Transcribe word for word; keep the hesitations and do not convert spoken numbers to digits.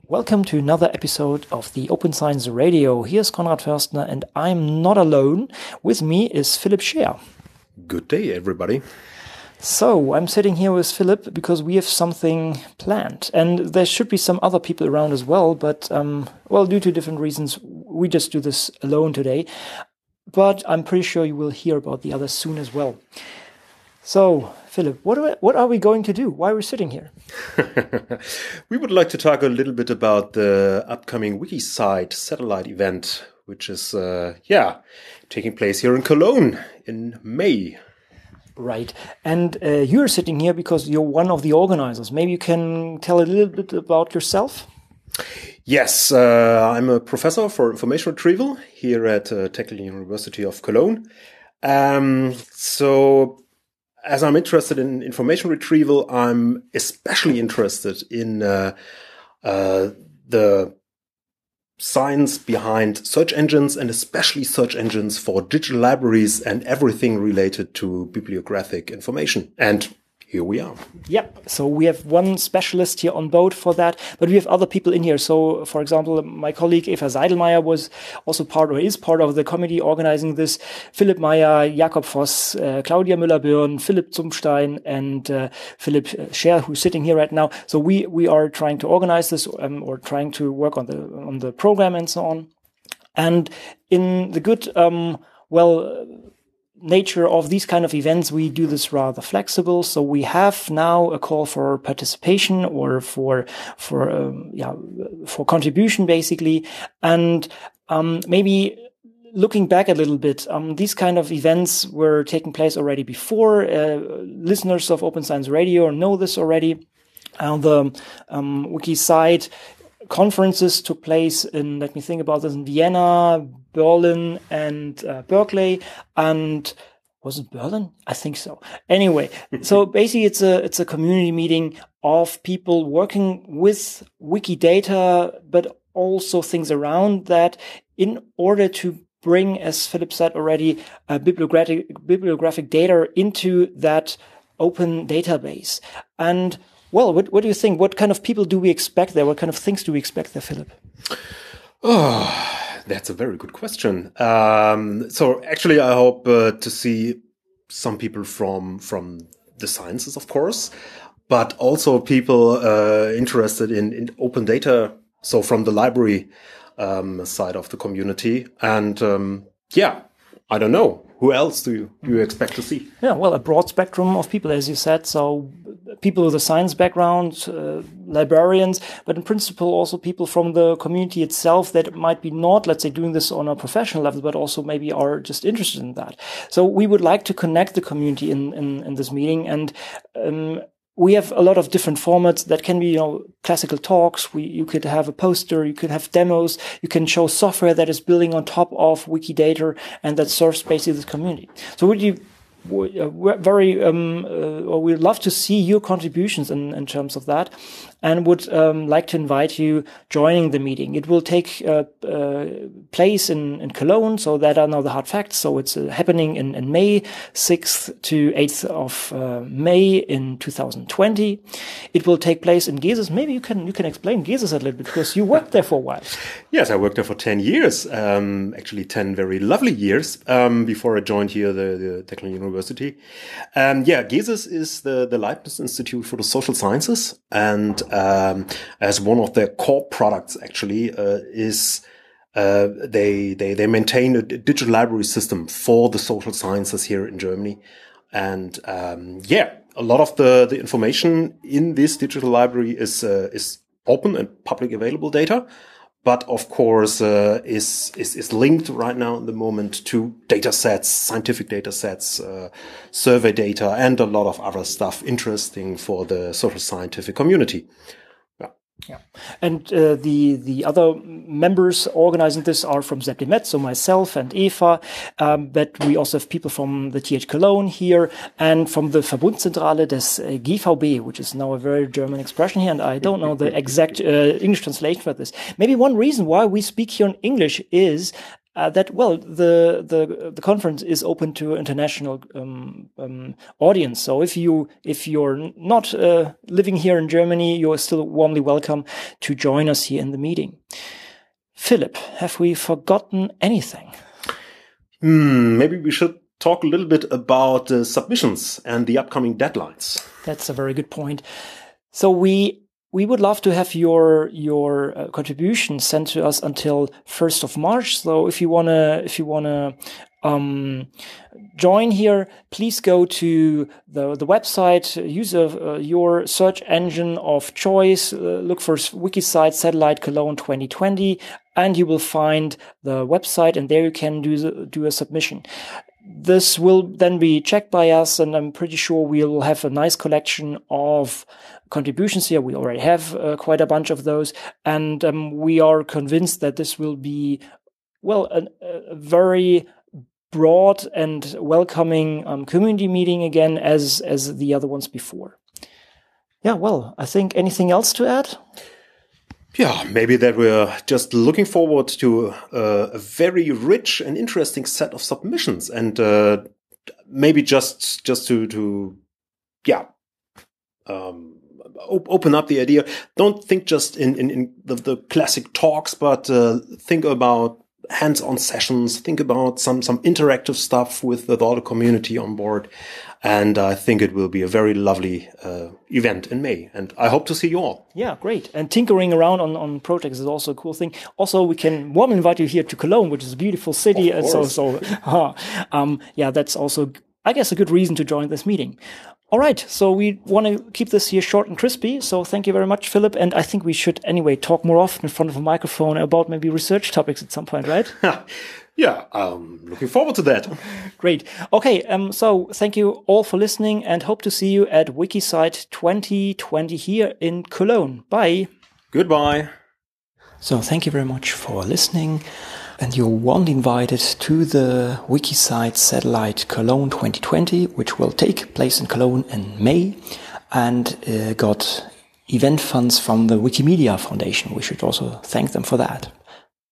Welcome to another episode of the Open Science Radio. Here's Konrad Förstner, and I'm not alone. With me is Philipp Scheer. Good day, everybody. So, I'm sitting here with Philipp because we have something planned. And there should be some other people around as well, but, um, well, due to different reasons, we just do this alone today. But I'm pretty sure you will hear about the others soon as well. So, Philipp, what are, we, what are we going to do? Why are we sitting here? We would like to talk a little bit about the upcoming WikiCite satellite event, which is, uh, yeah, taking place here in Cologne in May. Right. And uh, you're sitting here because you're one of the organizers. Maybe you can tell a little bit about yourself? Yes, uh, I'm a professor for information retrieval here at uh, Technical University of Cologne. Um, so... As I'm interested in information retrieval, I'm especially interested in uh, uh, the science behind search engines, and especially search engines for digital libraries and everything related to bibliographic information. And here we are. Yep. So we have one specialist here on board for that, but we have other people in here. So, for example, my colleague Eva Seidelmeier was also part or is part of the committee organizing this. Philipp Meyer, Jakob Voss, uh, Claudia Müller-Bürn, Philipp Zumstein, and uh, Philipp Scheer, who's sitting here right now. So we we are trying to organize this um, or trying to work on the on the program and so on. And in the good, um, well. nature of these kind of events, we do this rather flexible. So we have now a call for participation or for for um, yeah for contribution basically, and um, maybe looking back a little bit, um, these kind of events were taking place already before. Uh, listeners of Open Science Radio know this already. Uh, the um, WikiCite conferences took place in, let me think about this, in Vienna, Berlin, and uh, Berkeley, and was it Berlin? I think so. Anyway, so basically it's a it's a community meeting of people working with Wikidata, but also things around that in order to bring, as Philipp said already, uh, bibliographic bibliographic data into that open database. And well, what, what do you think? What kind of people do we expect there? What kind of things do we expect there, Philipp? Oh, that's a very good question. Um, so actually, I hope uh, to see some people from from the sciences, of course, but also people uh, interested in, in open data. So from the library um, side of the community. And um, yeah, I don't know. Who else do you, do you expect to see? Yeah, well, a broad spectrum of people, as you said. So people with a science background, uh, librarians, but in principle also people from the community itself that might be not, let's say, doing this on a professional level, but also maybe are just interested in that. So we would like to connect the community in, in, in this meeting. And um, we have a lot of different formats that can be, you know, classical talks. We, you could have a poster, you could have demos, you can show software that is building on top of Wikidata and that serves basically the community. So would you, we're very, um, uh, or we'd love to see your contributions in, in terms of that, and would um, like to invite you joining the meeting. It will take uh, uh, place in, in Cologne, so that are now the hard facts. So it's uh, happening in, in May, sixth to eighth of uh, May in two thousand twenty. It will take place in Geses. Maybe you can you can explain Geses a little bit, because you worked there for a while. Yes, I worked there for ten years, um, actually ten very lovely years um, before I joined here the, the Technical University. Um, yeah, Geses is the, the Leibniz Institute for the Social Sciences, and um, as one of their core products actually uh, is uh, they, they, they maintain a digital library system for the social sciences here in Germany. And um, yeah, a lot of the, the information in this digital library is uh, is open and public available data, but of course uh, is, is is linked right now in the moment to data sets, scientific data sets, uh, survey data, and a lot of other stuff interesting for the social scientific community. Yeah, and uh, the the other members organizing this are from ZepDeMet, so myself and Eva, um, but we also have people from the T H Cologne here and from the Verbundzentrale des uh, G V B, which is now a very German expression here, and I don't know the exact uh, English translation for this. Maybe one reason why we speak here in English is uh, that, well, the, the, the conference is open to international, um, um, audience. So if you, if you're not, uh, living here in Germany, you're still warmly welcome to join us here in the meeting. Philip, have we forgotten anything? Hmm, maybe we should talk a little bit about uh, submissions and the upcoming deadlines. That's a very good point. So we we would love to have your your uh, contribution sent to us until first of March. So if you wanna if you wanna um, join here, please go to the the website, use a, uh, your search engine of choice, uh, look for Wikisite Satellite Cologne twenty twenty, and you will find the website, and there you can do the, do a submission. This will then be checked by us, and I'm pretty sure we'll have a nice collection of contributions here. We already have uh, quite a bunch of those, and um, we are convinced that this will be, well, a, a very broad and welcoming um, community meeting again, as as the other ones before. Yeah, well, I think anything else to add? Yeah, maybe that we're just looking forward to uh, a very rich and interesting set of submissions, and uh, maybe just just to to yeah um, op- open up the idea. Don't think just in in, in the, the classic talks, but uh, think about hands-on sessions. Think about some some interactive stuff with, with all the community on board. And I think it will be a very lovely uh, event in May. And I hope to see you all. Yeah, great. And tinkering around on, on projects is also a cool thing. Also, we can warmly invite you here to Cologne, which is a beautiful city. And so, so uh, um, yeah, that's also, I guess, a good reason to join this meeting. All right. So we want to keep this here short and crispy. So thank you very much, Philip. And I think we should anyway talk more often in front of a microphone about maybe research topics at some point, right? Yeah, um, looking forward to that. Great. Okay, um, so thank you all for listening, and hope to see you at Wikisite twenty twenty here in Cologne. Bye. Goodbye. So thank you very much for listening, and you're warmly invited to the Wikisite Satellite Cologne twenty twenty, which will take place in Cologne in May, and uh, got event funds from the Wikimedia Foundation. We should also thank them for that.